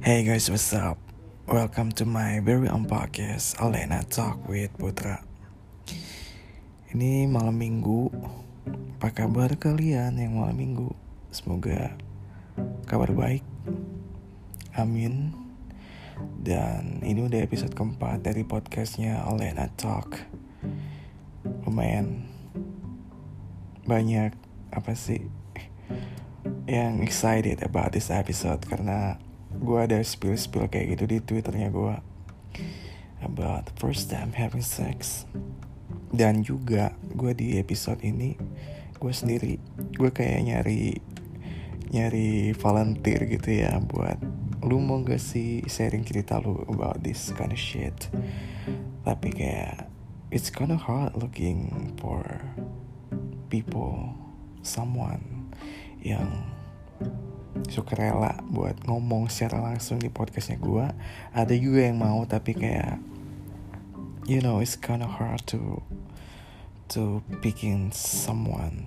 Hey guys, what's up? Welcome to my very own podcast, Alena Talk with Putra. Ini malam minggu. Apa kabar kalian yang malam minggu? Semoga kabar baik. Amin. Dan ini udah episode keempat dari podcastnya Alena Talk. Lumayan banyak yang excited about this episode, karena gue ada spill kayak gitu di Twitternya gue about the first time having sex. Dan juga gue di episode ini gue sendiri, gue kayak nyari volunteer gitu ya, buat lu mau gak sih sharing cerita lu about this kind of shit. Tapi kayak it's kind of hard looking for people, someone yang suka rela buat ngomong secara langsung di podcastnya gue. Ada juga yang mau, tapi kayak it's kind of hard to picking someone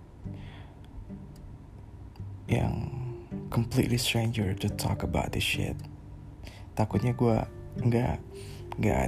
yang completely stranger to talk about this shit. Takutnya gue nggak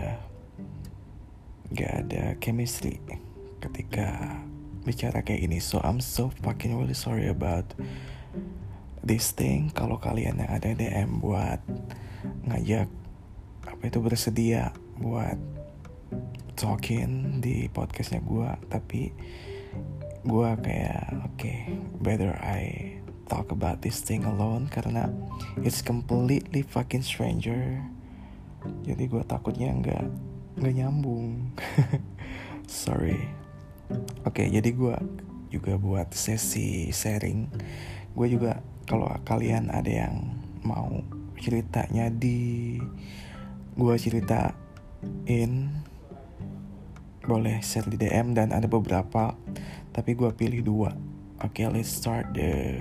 ada chemistry ketika bicara kayak ini. So I'm so fucking really sorry about this thing. Kalau kalian yang ada DM buat ngajak bersedia buat talking di podcastnya gue, tapi gue kayak better I talk about this thing alone, karena it's completely fucking stranger. Jadi gue takutnya nggak nyambung. Sorry. Jadi gue juga buat sesi sharing. Gue juga, kalau kalian ada yang mau ceritanya gue ceritain, boleh share di DM, dan ada beberapa, tapi gue pilih 2. Let's start the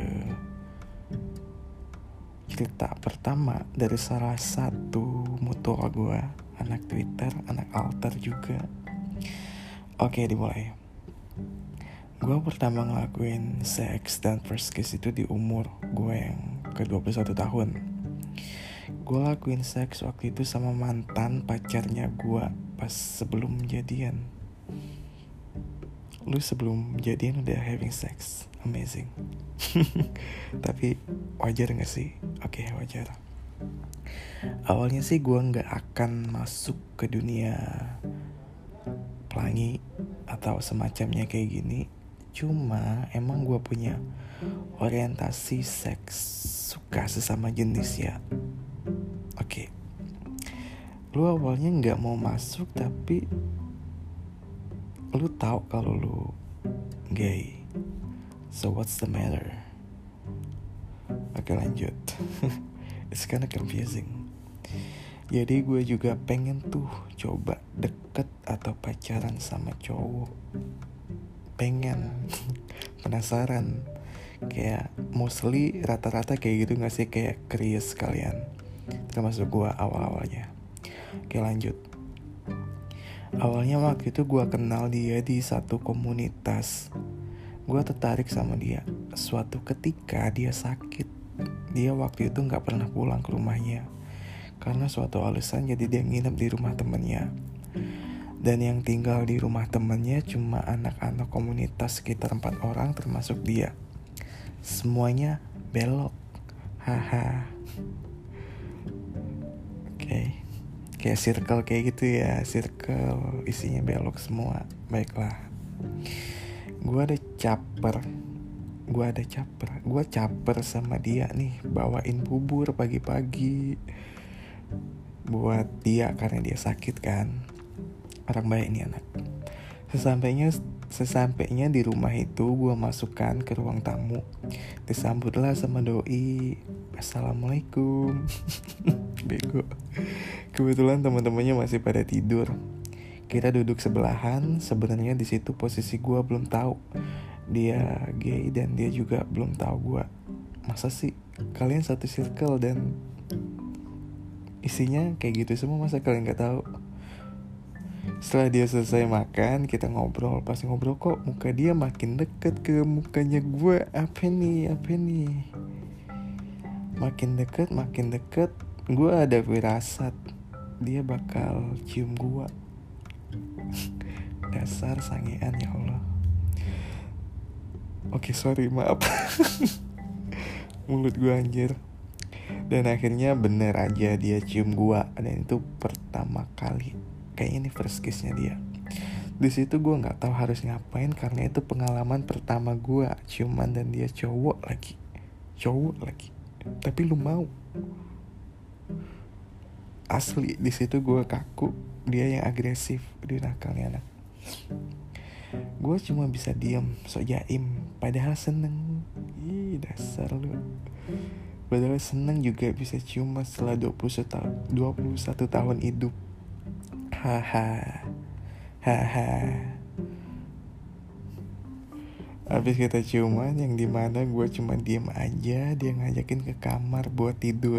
cerita pertama dari salah satu mutual gue, anak Twitter, anak alter juga. Dimulai. Gue pertama ngelakuin seks dan first kiss itu di umur gue yang ke-21 tahun. Gue lakuin seks waktu itu sama mantan pacarnya gue pas sebelum jadian. Lu sebelum jadian udah having sex? Amazing. Tapi wajar gak sih? Wajar. Awalnya sih gue gak akan masuk ke dunia pelangi atau semacamnya kayak gini. Cuma emang gue punya orientasi seks, suka sesama jenis ya. Lu awalnya gak mau masuk, tapi lu tahu kalau lu gay. So what's the matter? Lanjut. It's kinda confusing. Jadi gue juga pengen tuh coba deket atau pacaran sama cowok. Pengen. Penasaran. Kayak mostly rata-rata kayak gitu gak sih? Kayak curious kalian. Termasuk gue awal-awalnya. Lanjut. Awalnya waktu itu gue kenal dia di satu komunitas. Gue tertarik sama dia. Suatu ketika dia sakit. Dia waktu itu gak pernah pulang ke rumahnya karena suatu alasan, jadi dia nginep di rumah temennya. Dan yang tinggal di rumah temennya cuma anak-anak komunitas sekitar 4 orang termasuk dia. Semuanya belok. Haha. Kayak circle kayak gitu ya. Circle isinya belok semua. Baiklah. Gue caper sama dia nih, bawain bubur pagi-pagi buat dia karena dia sakit kan. Orang baik nih anak. Sesampainya di rumah itu, gue masukkan ke ruang tamu. Disambutlah sama doi. Assalamualaikum. Bego. Kebetulan teman-temannya masih pada tidur. Kita duduk sebelahan. Sebenarnya di situ posisi gue belum tahu dia gay, dan dia juga belum tahu gue. Masa sih kalian satu circle dan isinya kayak gitu semua, masa kalian nggak tahu? Setelah dia selesai makan, kita ngobrol. Pas ngobrol kok muka dia makin deket ke mukanya gue. Apa nih? Makin deket gue ada firasat dia bakal cium gue. Dasar sangean, ya Allah. Oke, sorry, maaf. Mulut gue anjir. Dan akhirnya bener aja dia cium gue, dan itu pertama kali. Kayaknya ini first kiss-nya dia. Di situ gue nggak tahu harus ngapain karena itu pengalaman pertama gue ciuman dan dia cowok lagi. Tapi lu mau? Asli di situ gue kaku, dia yang agresif, dia nakalnya anak. Gue cuma bisa diam, sok jaim, padahal seneng. Ih, dasar lu. Padahal seneng juga bisa ciuman setelah 21 tahun hidup. Haha. Habis kita ciuman yang dimana gue cuma diem aja, dia ngajakin ke kamar buat tidur.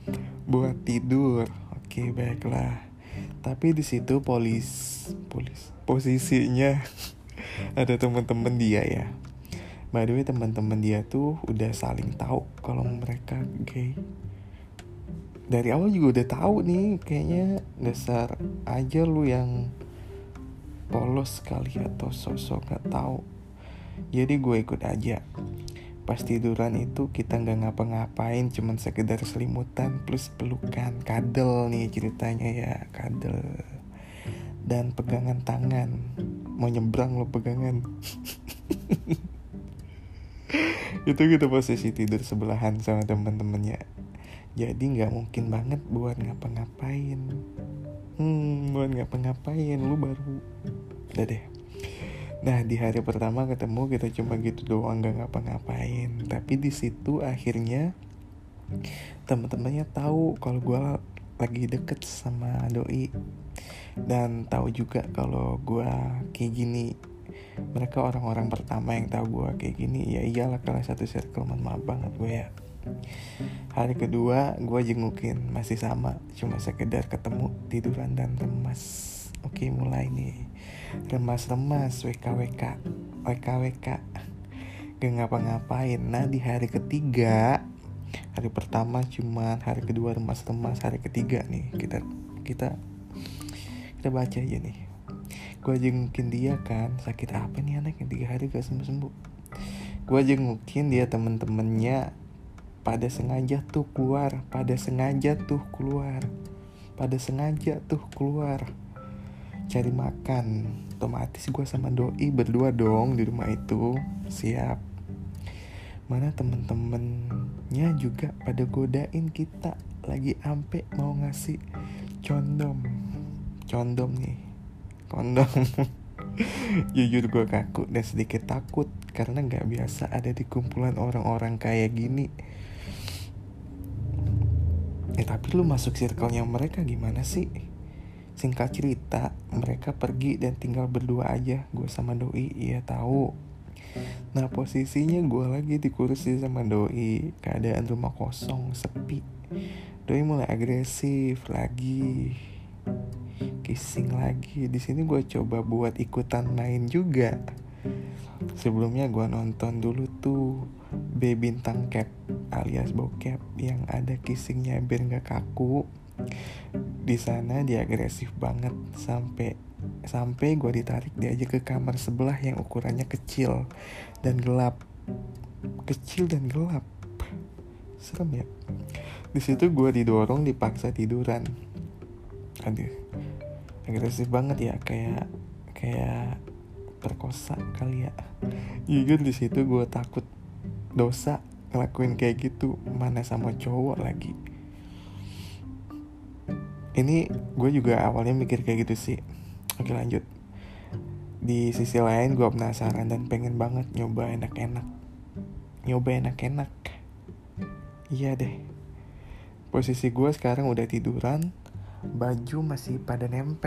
Oke, baiklah. Tapi di situ posisinya ada teman-teman dia ya. By the way, teman-teman dia tuh udah saling tahu kalau mereka gay. Dari awal juga udah tahu nih, kayaknya dasar aja lu yang polos kali atau sosok gak tahu. Jadi gue ikut aja. Pas tiduran itu kita gak ngapa-ngapain, cuman sekedar selimutan plus pelukan, kadel nih ceritanya ya, kadel. Dan pegangan tangan. Mau nyebrang lo pegangan. Itu kita posisi tidur sebelahan sama teman-temannya. Jadi gak mungkin banget buat ngapa-ngapain. Lu baru. Udah deh. Nah, di hari pertama ketemu kita cuma gitu doang, gak ngapa-ngapain. Tapi di situ akhirnya teman-temannya tahu kalau gue lagi deket sama doi, dan tahu juga kalau gue kayak gini. Mereka orang-orang pertama yang tahu gue kayak gini. Ya iyalah, kalau satu circle, maaf banget gue ya. Hari kedua gue jengukin, masih sama, cuma sekedar ketemu, tiduran dan remas. Oke, mulai nih. Remas-remas, WKWK. Gak ngapa-ngapain. Nah, di hari ketiga, hari pertama cuman, hari kedua remas-remas, hari ketiga nih kita baca aja nih. Gue jengukin dia kan, sakit apa nih anak yang 3 hari gak sembuh-sembuh. Gue jengukin dia, temen-temennya pada sengaja tuh keluar. Cari makan. Otomatis gue sama doi berdua dong di rumah itu. Siap. Mana temen-temennya juga pada godain kita, lagi ampe mau ngasih kondom nih, kondom. Jujur gue kaku dan sedikit takut karena gak biasa ada di kumpulan orang-orang kayak gini. Tapi lu masuk circle-nya mereka gimana sih? Singkat cerita, mereka pergi dan tinggal berdua aja, gue sama doi. Iya tahu. Nah, posisinya gue lagi di kursi sama doi, keadaan rumah kosong, sepi. Doi mulai agresif lagi, kissing lagi. Di sini gue coba buat ikutan main juga. Sebelumnya gue nonton dulu tuh B Bintang Cap alias bokep yang ada kissingnya biar nggak kaku. Di sana dia agresif banget sampai gue ditarik diajak ke kamar sebelah yang ukurannya kecil dan gelap. Serem ya. Di situ gue didorong, dipaksa tiduran. Aduh, agresif banget ya, kayak perkosa kali ya. Jujur di situ gue takut dosa ngelakuin kayak gitu, mana sama cowok lagi. Ini gue juga awalnya mikir kayak gitu sih. Oke, lanjut. Di sisi lain gue penasaran dan pengen banget nyoba enak-enak. Iya deh. Posisi gue sekarang udah tiduran, baju masih pada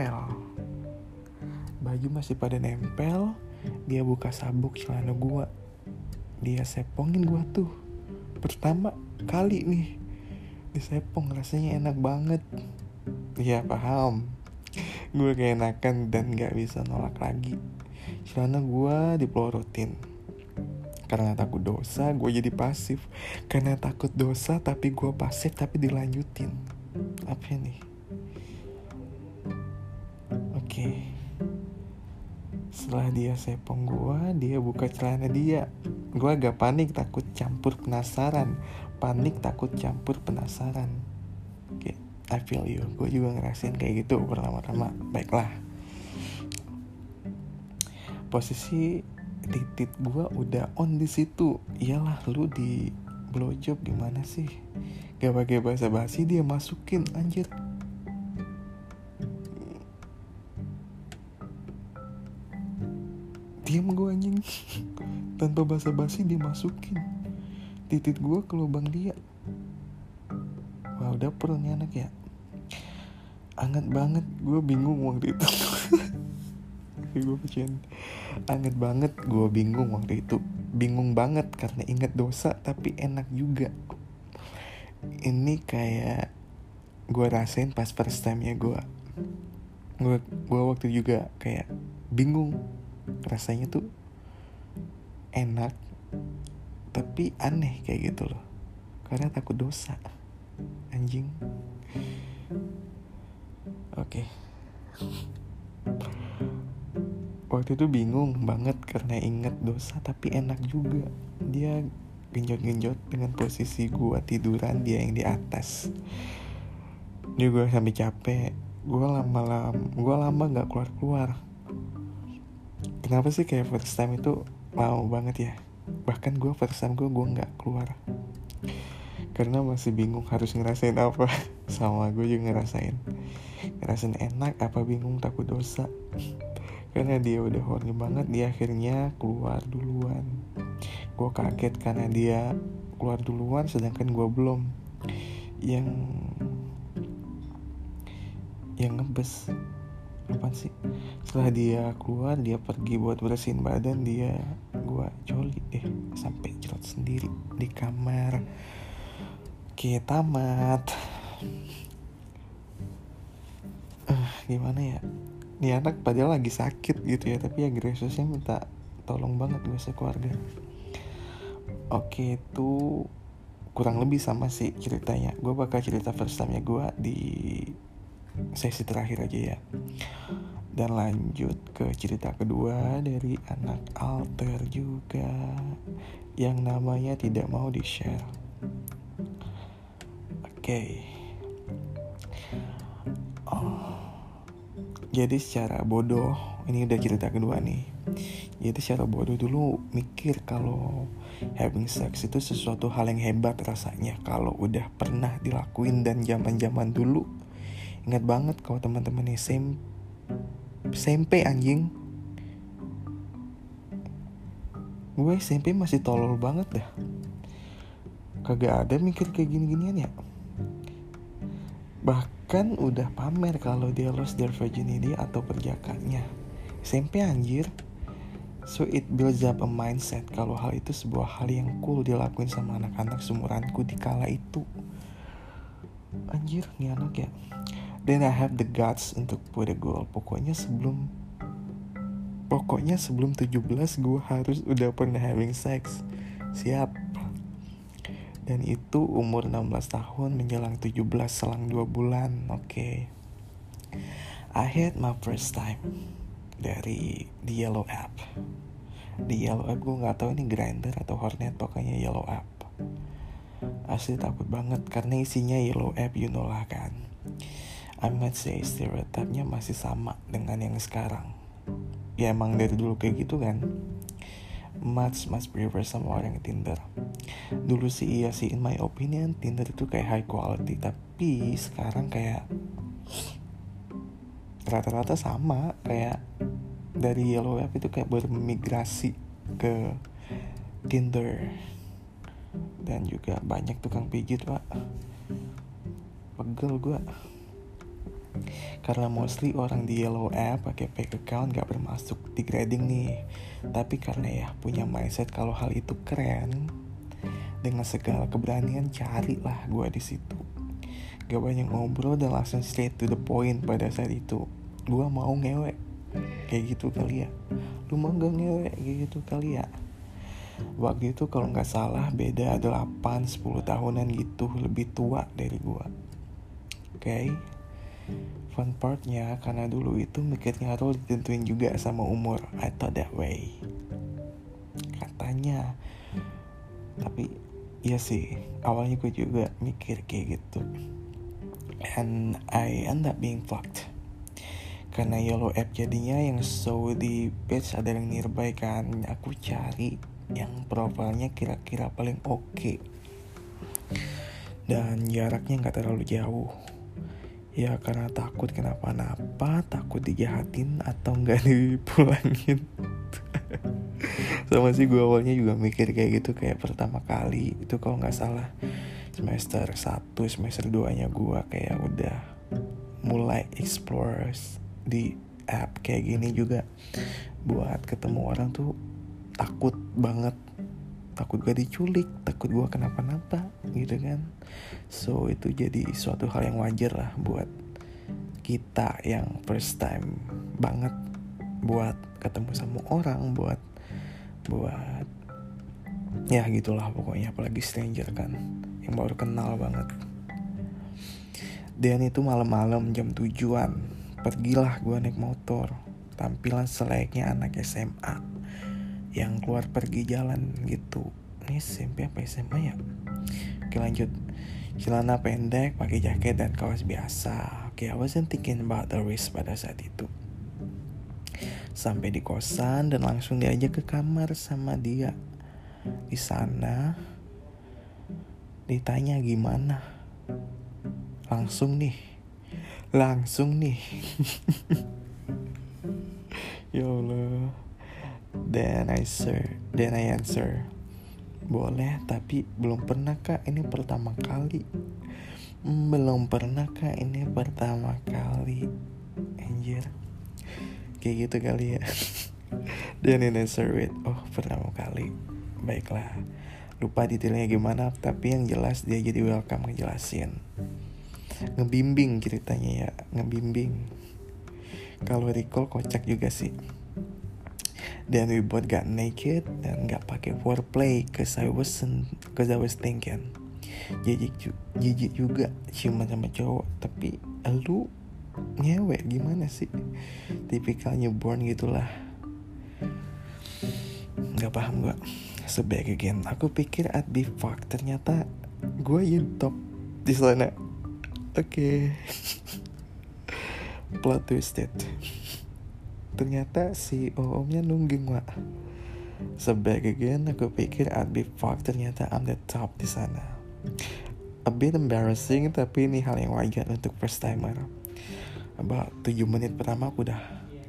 nempel. Dia buka sabuk celana gue, dia sepongin gue tuh. Pertama kali nih disepong, rasanya enak banget. Ya paham, gue keenakan dan gak bisa nolak lagi. Celana gue dipelorotin. Karena takut dosa gue jadi pasif. Karena takut dosa tapi gue pasif tapi dilanjutin. Apa nih? Oke. Setelah dia sepong gue, dia buka celana dia. Gue agak panik, takut campur penasaran. Oke, I feel you. Gue juga ngerasain kayak gitu pertama-tama. Baiklah. Posisi titik gue udah on di situ. Iyalah, lu di blowjob gimana sih? Gak pakai basa-basi dia masukin, anjir. Diam gue anjing. Tanpa basa-basi dia masukin titik gue ke lubang dia. Wah, udah perlu nih anak ya. Anget banget, gue bingung waktu itu. Anget banget, gue bingung waktu itu. Bingung banget karena inget dosa tapi enak juga. Ini kayak gue rasain pas first time ya gue waktu juga kayak bingung. Rasanya tuh enak tapi aneh kayak gitu loh. Karena takut dosa. Anjing. Oke. Waktu itu bingung banget karena inget dosa tapi enak juga. Dia genjot-genjot dengan posisi gue tiduran, dia yang di atas. Dia gue sampai capek. Gue lama gak keluar. Kenapa sih kayak first time itu lama banget ya? Bahkan gue first time gue gak keluar karena masih bingung harus ngerasain apa. Sama gue juga ngerasain enak apa bingung takut dosa. Karena dia udah horny banget, dia akhirnya keluar duluan. Gue kaget karena dia keluar duluan sedangkan gue belum. Yang ngebes apaan sih? Setelah dia keluar, dia pergi buat bersihin badan, gue coli deh sampai cerot sendiri di kamar. Oke, tamat. Gimana ya? Nih anak padahal lagi sakit gitu ya, tapi agresifnya minta tolong banget gue sekeluarga. Oke, itu kurang lebih sama sih ceritanya. Gue bakal cerita first time-nya gue di sesi terakhir aja ya. Dan lanjut ke cerita kedua dari anak alter juga, yang namanya tidak mau di-share. Oke. Jadi secara bodoh, ini udah cerita kedua nih. Jadi secara bodoh dulu mikir kalau having sex itu sesuatu hal yang hebat rasanya kalau udah pernah dilakuin. Dan zaman-zaman dulu ingat banget kalau teman-teman SMP anjing. Gue SMP masih tolol banget dah. Kagak ada mikir kayak gini-ginian ya. Bahkan udah pamer kalau dia lost their virginity atau perjakaannya. SMP anjir. So it builds up a mindset kalau hal itu sebuah hal yang cool dilakuin sama anak-anak seumuranku di kala itu. Anjir, nih anak ya. Then I have the guts untuk put a goal. Pokoknya sebelum 17 gue harus udah pernah having sex. Siap. Dan itu umur 16 tahun menjelang 17 selang 2 bulan. Oke. I had my first time dari The Yellow App. The Yellow App, gue gak tahu ini Grindr atau Hornet, pokoknya Yellow App. Asli takut banget karena isinya Yellow App, you know lah kan. I might say stereotipnya masih sama dengan yang sekarang. Ya emang dari dulu kayak gitu kan. Much prefer sama orang Tinder. Dulu sih iya sih, in my opinion Tinder itu kayak high quality. Tapi sekarang kayak rata-rata sama. Kayak dari Yellow App itu kayak bermigrasi ke Tinder. Dan juga banyak tukang pijit pak. Pegel gue. Karena mostly orang di Yellow App pakai fake account gak bermasuk di grading nih. Tapi karena ya punya mindset kalau hal itu keren, dengan segala keberanian carilah gue di situ. Gak banyak ngobrol dan langsung straight to the point pada saat itu. Gue mau ngewe, kayak gitu kali ya. Lu mau gak ngewe, kayak gitu kali ya. Waktu itu kalau gak salah beda 8-10 tahunan gitu, lebih tua dari gue. Okay? Fun partnya, karena dulu itu mikirnya role ditentuin juga sama umur. I thought that way, katanya. Tapi iya sih, awalnya gue juga mikir kayak gitu. And I end up being fucked. Karena Yellow App jadinya yang show di page ada yang nearby kan. Aku cari yang profilnya kira-kira paling oke. Dan jaraknya gak terlalu jauh. Ya karena takut kenapa-napa, takut dijahatin atau gak dipulangin. Sama sih gue awalnya juga mikir kayak gitu, kayak pertama kali itu kalau gak salah semester 1, semester 2 nya gue kayak udah mulai explore di app kayak gini juga. Buat ketemu orang tuh takut banget, takut gue diculik, takut gue kenapa-napa gitu kan. So itu jadi suatu hal yang wajar lah buat kita yang first time banget buat ketemu sama orang, buat ya gitulah pokoknya, apalagi stranger kan yang baru kenal banget. Dan itu malam-malam jam 7-an, pergilah gue naik motor, tampilan selayaknya anak SMA yang keluar pergi jalan gitu. Ini SMP apa SMA ya? Oke lanjut. Celana pendek, pakai jaket dan kaos biasa. Oke, I wasn't thinking about the risk pada saat itu. Sampai di kosan dan langsung diajak ke kamar sama dia. Di sana ditanya gimana. Langsung nih. Ya Allah. Then I answer, boleh, tapi belum pernah kak, ini pertama kali. Anjir, kayak gitu kali ya. Then I answer it, oh pertama kali, baiklah. Lupa detailnya gimana, tapi yang jelas dia jadi welcome ngejelasin, ngebimbing ceritanya ya, Kalau recall kocak juga sih. Dan we both got naked dan gak pakai foreplay, cause I was thinking jijik juga ciuman sama cowok, tapi lu ngewek gimana sih, tipikal newborn gitulah. Gak paham gue. So back again, aku pikir I'd be fucked, ternyata gue top di sana. Oke. Plot twisted. Ternyata si omnya nungging, Wak. So back again, aku pikir I'd be fucked, ternyata I'm the top di sana. A bit embarrassing, tapi ini hal yang wajar untuk first timer. About 7 menit pertama aku udah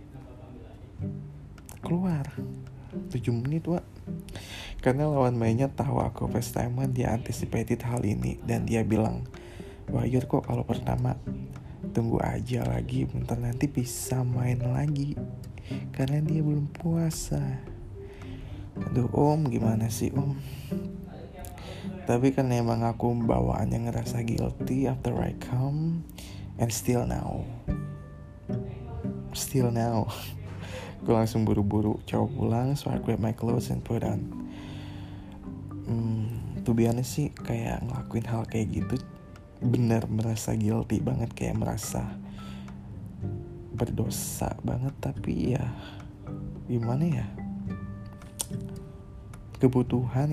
keluar. 7 menit, Wak. Karena lawan mainnya tahu aku first timer, dia anticipated hal ini dan dia bilang, wajar kok kalau pertama. Tunggu aja lagi, bentar nanti bisa main lagi, karena dia belum puasa. Aduh om, gimana sih om? Tapi kan emang aku bawaannya ngerasa guilty after I come, and still now gue langsung buru-buru coba pulang, so I grab my clothes and put on. To be honest sih, kayak ngelakuin hal kayak gitu bener merasa guilty banget, kayak merasa berdosa banget. Tapi ya gimana ya, kebutuhan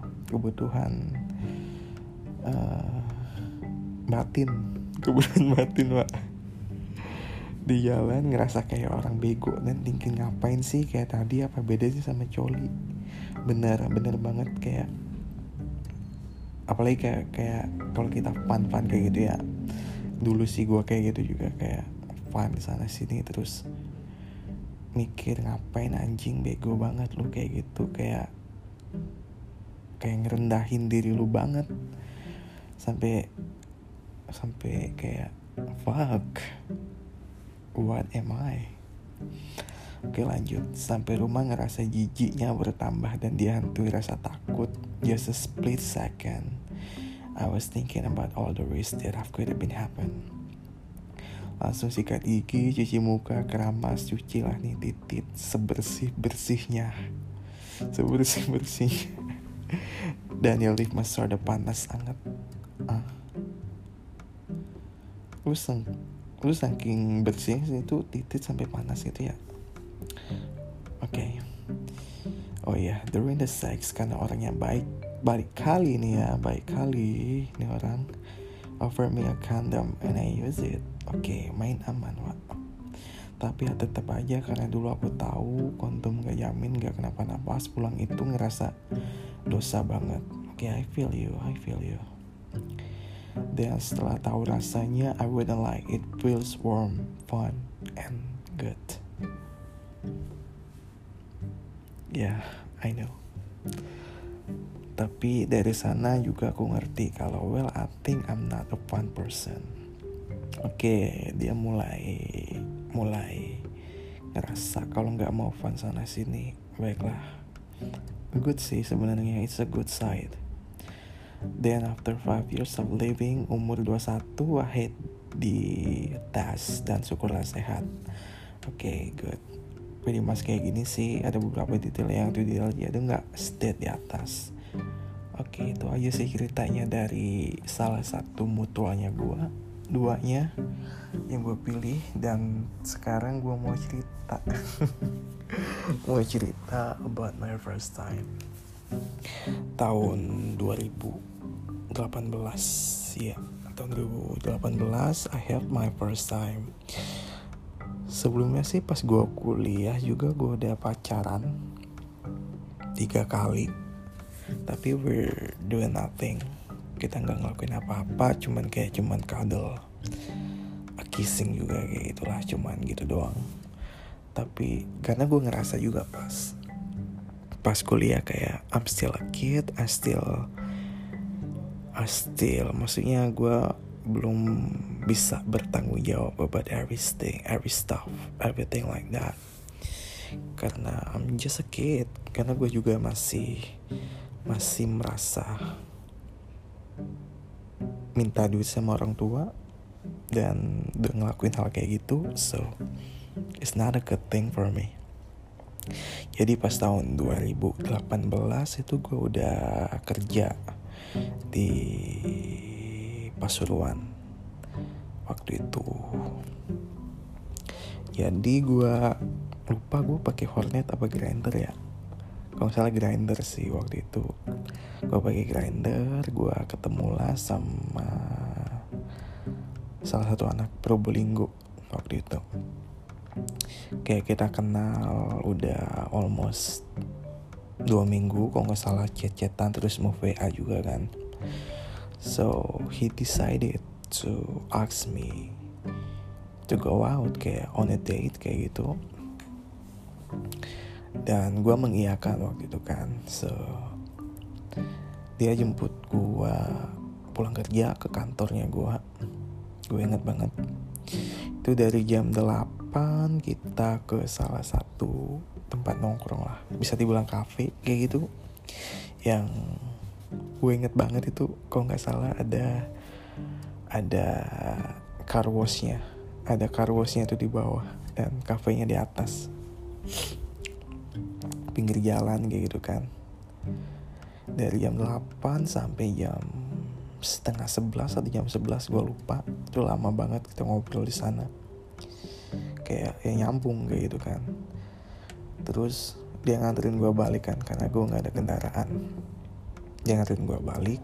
batin Pak. Di jalan ngerasa kayak orang bego dan thinking ngapain sih kayak tadi, apa bedanya sama coli. Bener banget, kayak apalagi kayak kalau kita fun kayak gitu ya. Dulu sih gue kayak gitu juga, kayak fun sana sini terus mikir ngapain anjing, bego banget lu kayak gitu, kayak ngerendahin diri lu banget sampai kayak fuck, what am I? Oke lanjut. Sampai rumah ngerasa jijiknya bertambah dan dihantui rasa takut. Just a split second I was thinking about all the risks that could have been happen. Langsung sikat gigi, cuci muka, keramas, cuci lah nih titit sebersih-bersihnya. sebersih-bersih. Daniel Leaf Master udah panas banget. Lu saking bersih itu titit sampai panas gitu ya. Oke. Oh iya, during the sex karena orangnya baik kali nih orang offer me a condom and I use it. Oke, main aman, Wak. Tapi ya tetap aja karena dulu aku tahu kondom gak jamin gak kenapa-napa, pulang itu ngerasa dosa banget. Oke, I feel you. Dan setelah tahu rasanya, I wouldn't like it. Feels warm, fun, and good. Yeah, I know. Tapi dari sana juga aku ngerti kalau I think I'm not a fun person. Oke, dia mulai ngerasa kalau nggak mau fun sana sini. Baiklah, good sih sebenarnya, it's a good side. Then after 5 years of living, umur 21, I hit di tes dan syukurlah sehat. Oke, good. Pretty much kayak gini sih, ada beberapa detail yang detail dia tuh nggak state di atas. Oke, itu aja sih ceritanya dari salah satu mutualnya gue, duanya yang gue pilih. Dan sekarang gue mau cerita about my first time. Tahun 2018 ya, tahun 2018 I have my first time. Sebelumnya sih pas gue kuliah juga gue udah pacaran 3 kali, tapi we're doing nothing. Kita gak ngelakuin apa-apa, cuman cuddle, kissing juga kayak gitulah, cuman gitu doang. Tapi karena gue ngerasa juga pas kuliah kayak I'm still a kid, I still maksudnya gue belum bisa bertanggung jawab about everything like that. Karena I'm just a kid, karena gue juga masih merasa minta duit sama orang tua dan udah ngelakuin hal kayak gitu, so it's not a good thing for me. Jadi pas tahun 2018 itu gue udah kerja di Pasuruan waktu itu. Jadi gue lupa gue pakai Hornet apa Grindr ya. Kalau salah Grindr sih waktu itu. Gue pakai Grindr, gue ketemulah sama salah satu anak Probolinggo waktu itu. Kayak kita kenal udah almost 2 minggu, kalau gak salah chat-chatan terus mau WA juga kan. So he decided to ask me to go out, kayak on a date kayak gitu. Dan gue mengiyakan waktu itu kan. So dia jemput gue pulang kerja ke kantornya gue inget banget. Itu dari jam 8 kita ke salah satu tempat nongkrong lah, bisa dibilang kafe kayak gitu, yang gue inget banget itu kalau nggak salah ada car washnya itu di bawah dan kafenya di atas, pinggir jalan kayak gitu kan. Dari jam 8 sampai jam setengah 11 atau jam 11 gue lupa, itu lama banget kita ngobrol di sana, kayak nyambung kayak gitu kan. Terus dia nganterin gue balik kan, karena gue gak ada kendaraan. Dia nganterin gue balik.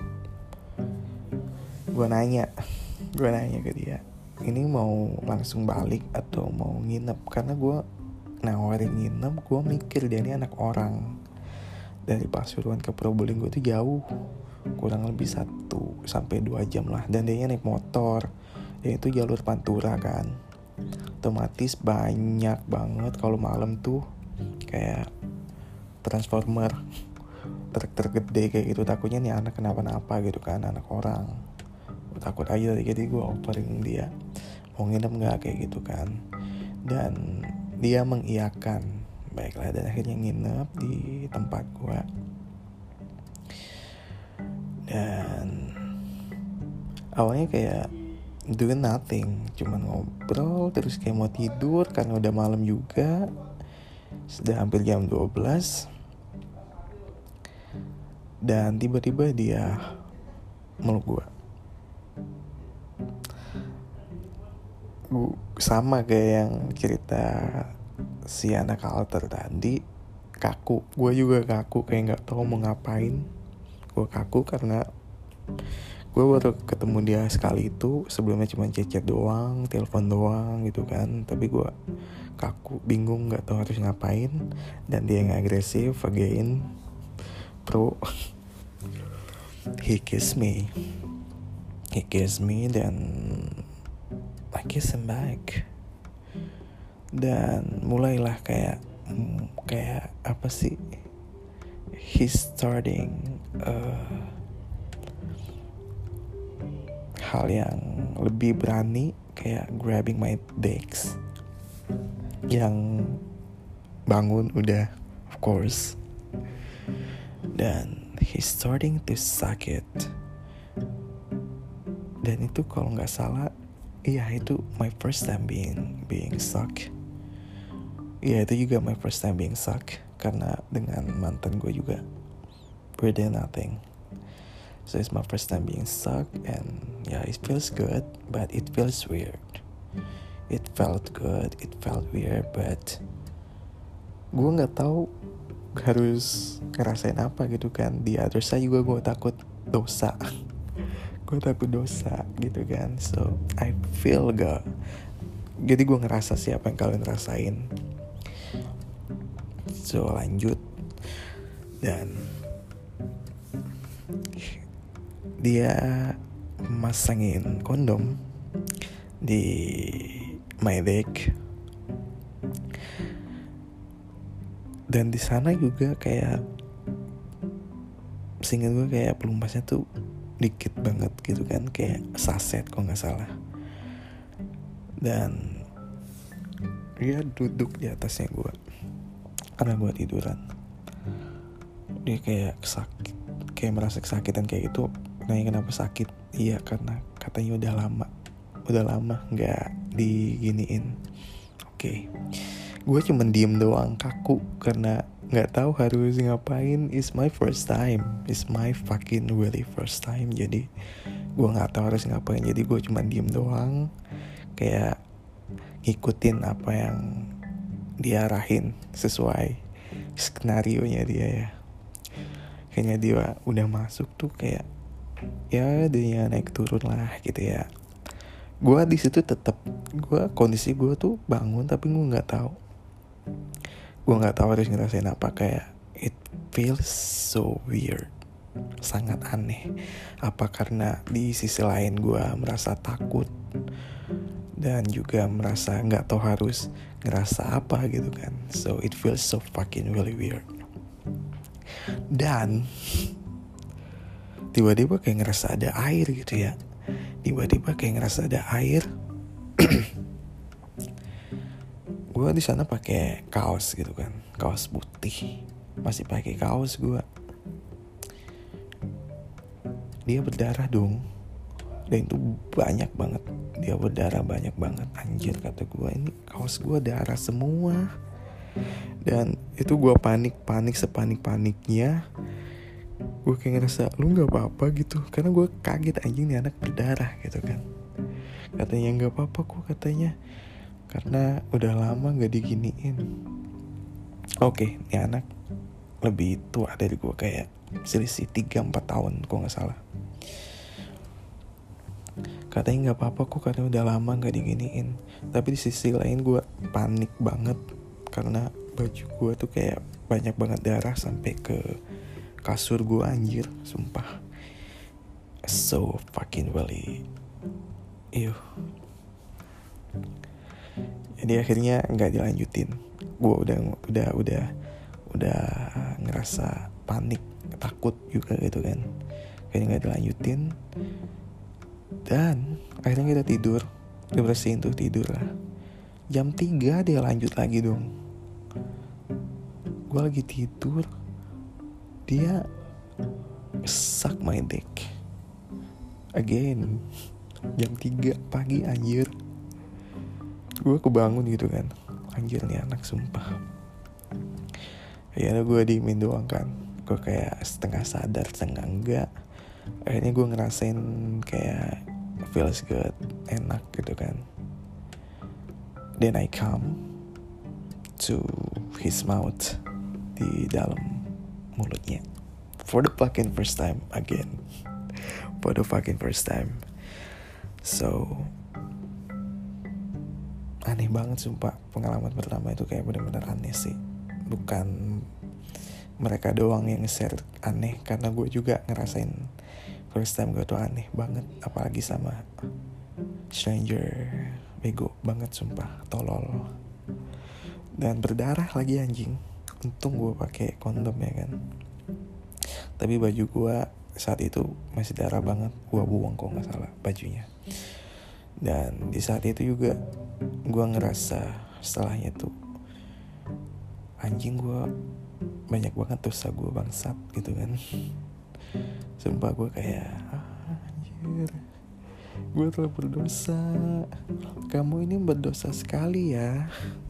Gue nanya ke dia, ini mau langsung balik atau mau nginep? Karena gue nawarin nginep, gue mikir dia ini anak orang. Dari Pasuruan ke Probolinggo itu jauh, kurang lebih 1-2 jam lah. Dan dia naik motor, dia itu jalur Pantura kan, otomatis banyak banget kalau malam tuh kayak transformer, truk gede kayak gitu. Takutnya nih anak kenapa-napa gitu kan, anak orang. Gue takut aja, jadi gue offering dia mau nginep gak kayak gitu kan. Dan dia mengiyakan. Baiklah, dan akhirnya nginep di tempat gue. Dan awalnya kayak doing nothing, cuman ngobrol terus kayak mau tidur karena udah malam juga, sudah hampir jam 12. Dan tiba-tiba dia meluk gue. Sama kayak yang cerita si anak alter tadi, kaku. Gue juga kaku, kayak gak tahu mau ngapain. Gue kaku karena gue baru ketemu dia sekali itu. Sebelumnya cuma chat doang, telepon doang gitu kan. Tapi gue kaku, bingung, gak tahu harus ngapain. Dan dia yang agresif again. He kissed me dan I kiss him back. Dan mulailah kayak apa sih, he's starting hal yang lebih berani, kayak grabbing my dicks. Yang bangun udah, of course. Dan he's starting to suck it. Dan itu kalau nggak salah, iya itu my first time being suck. Iya itu juga my first time being suck. Karena dengan mantan gue juga we did nothing. So it's my first time being suck. And yeah, it feels good, but it feels weird. It felt good, it felt weird, but gue nggak tahu harus ngerasain apa gitu kan. Di other side juga gue takut dosa. Gue takut dosa gitu kan. So I feel gak. Jadi gue ngerasa sih apa yang kalian rasain. So lanjut. Dan dia masangin kondom di my dick. Dan di sana juga kayak, seingat gue kayak pelumasnya tuh dikit banget gitu kan, kayak saset kalau nggak salah. Dan dia duduk di atasnya gue karena gue tiduran. Dia kayak sakit, kayak merasa kesakitan kayak gitu. Nanya kenapa sakit? Iya karena katanya udah lama nggak diginiin. Oke. Gue cuma diem doang, kaku karena nggak tahu harus ngapain. It's my first time, it's my fucking really first time. Jadi gue nggak tahu harus ngapain. Jadi gue cuma diem doang, kayak ngikutin apa yang dia arahin sesuai skenario nya dia ya. Kayaknya dia udah masuk tuh kayak ya dia naik turun lah gitu ya. Gue di situ tetap, kondisi gue tuh bangun tapi gue nggak tahu harus ngerasain apa. Kayak it feels so weird, sangat aneh. Apa karena di sisi lain gue merasa takut dan juga merasa nggak tahu harus ngerasa apa gitu kan. So it feels so fucking really weird. Dan tiba-tiba kayak ngerasa ada air gitu ya. Gue di sana pakai kaos gitu kan, kaos putih, masih pakai kaos gue. Dia berdarah dong, dan itu banyak banget. Dia berdarah banyak banget. Anjir kata gue, ini kaos gue darah semua. Dan itu gue panik sepanik-paniknya. Gue kayak ngerasa lu nggak apa-apa gitu, karena gue kaget anjing nih anak berdarah gitu kan. Katanya nggak apa-apa kok katanya, karena udah lama gak diginiin. Oke, ini anak lebih tua dari gue, kayak selisih 3-4 tahun kok gak salah. Katanya gak apa-apa kok, karena udah lama gak diginiin. Tapi di sisi lain gue panik banget, karena baju gue tuh kayak banyak banget darah sampai ke kasur gue, anjir, sumpah. So fucking really ew. Jadi akhirnya nggak dilanjutin. Gue udah ngerasa panik, takut juga gitu kan. Akhirnya nggak dilanjutin. Dan akhirnya kita tidur, dibersihin tuh, tidur lah. Jam 3 dia lanjut lagi dong. Gue lagi tidur, dia suck my dick again. Jam 3 pagi anjir. Gue kebangun gitu kan, anjir nih anak sumpah. Ya gue diemin doang kan. gue kayak setengah sadar setengah enggak. Akhirnya gue ngerasain kayak feels good, enak gitu kan. Then I come to his mouth, di dalam mulutnya, for the fucking first time again. For the fucking first time. So aneh banget sumpah, pengalaman pertama itu kayak benar-benar aneh sih. Bukan mereka doang yang share aneh, karena gue juga ngerasain first time gue tuh aneh banget. Apalagi sama stranger, bego banget sumpah, tolol. Dan berdarah lagi anjing. Untung gue pakai kondom ya kan. Tapi baju gue saat itu masih darah banget, gue buang kok nggak salah bajunya. Dan di saat itu juga gue ngerasa setelahnya tuh, anjing gue banyak banget dosa gue bangsat gitu kan. Sumpah gue kayak anjir, gue telah berdosa, kamu ini berdosa sekali ya.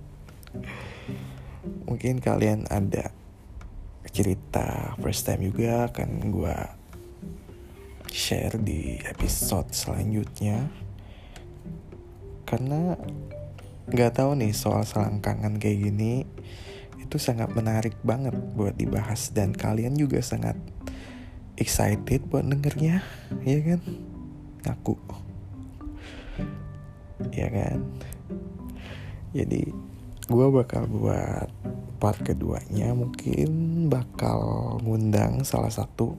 Mungkin kalian ada cerita first time juga akan gue share di episode selanjutnya. Karena gak tahu nih, soal selangkangan kayak gini itu sangat menarik banget buat dibahas. Dan kalian juga sangat excited buat dengernya, ya kan? Ngaku, ya kan? Jadi gue bakal buat part keduanya, mungkin bakal ngundang salah satu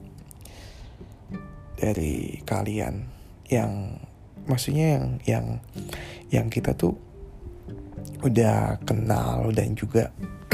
dari kalian yang maksudnya yang kita tuh udah kenal dan juga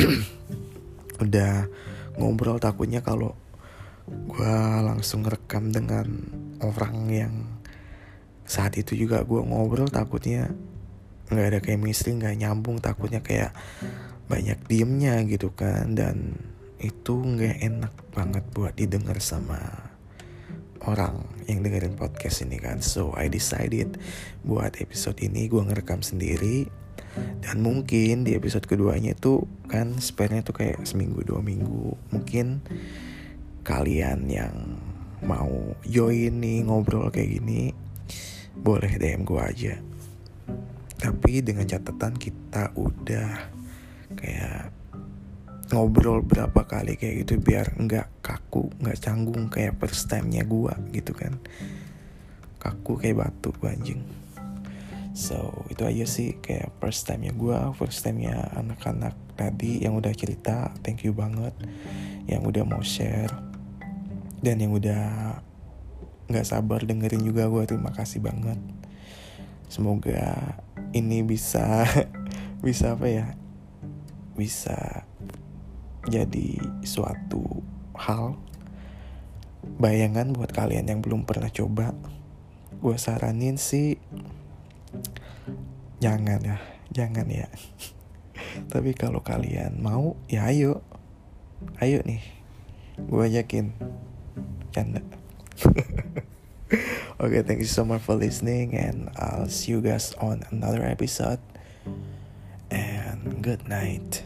udah ngobrol. Takutnya kalau gue langsung rekam dengan orang yang saat itu juga gue ngobrol, takutnya nggak ada chemistry, nggak nyambung, takutnya kayak banyak diemnya gitu kan. Dan itu nggak enak banget buat didengar sama orang yang dengerin podcast ini kan. So I decided buat episode ini gue ngerekam sendiri. Dan mungkin di episode keduanya itu kan spare-nya tuh kayak seminggu 2 minggu. Mungkin kalian yang mau join nih ngobrol kayak gini, boleh DM gue aja. Tapi dengan catatan kita udah kayak ngobrol berapa kali kayak gitu, biar nggak kaku, nggak canggung kayak first time-nya gue gitu kan. Kaku kayak batu anjing. So itu aja sih kayak first time-nya gue, first time-nya anak-anak tadi yang udah cerita. Thank you banget yang udah mau share, dan yang udah nggak sabar dengerin juga, gue terima kasih banget. Semoga ini bisa apa ya, bisa jadi suatu hal bayangan buat kalian yang belum pernah coba. Gue saranin sih jangan ya. Tapi kalau kalian mau ya ayo nih, gue ajakin canda. Okay, thank you so much for listening, and I'll see you guys on another episode, and good night.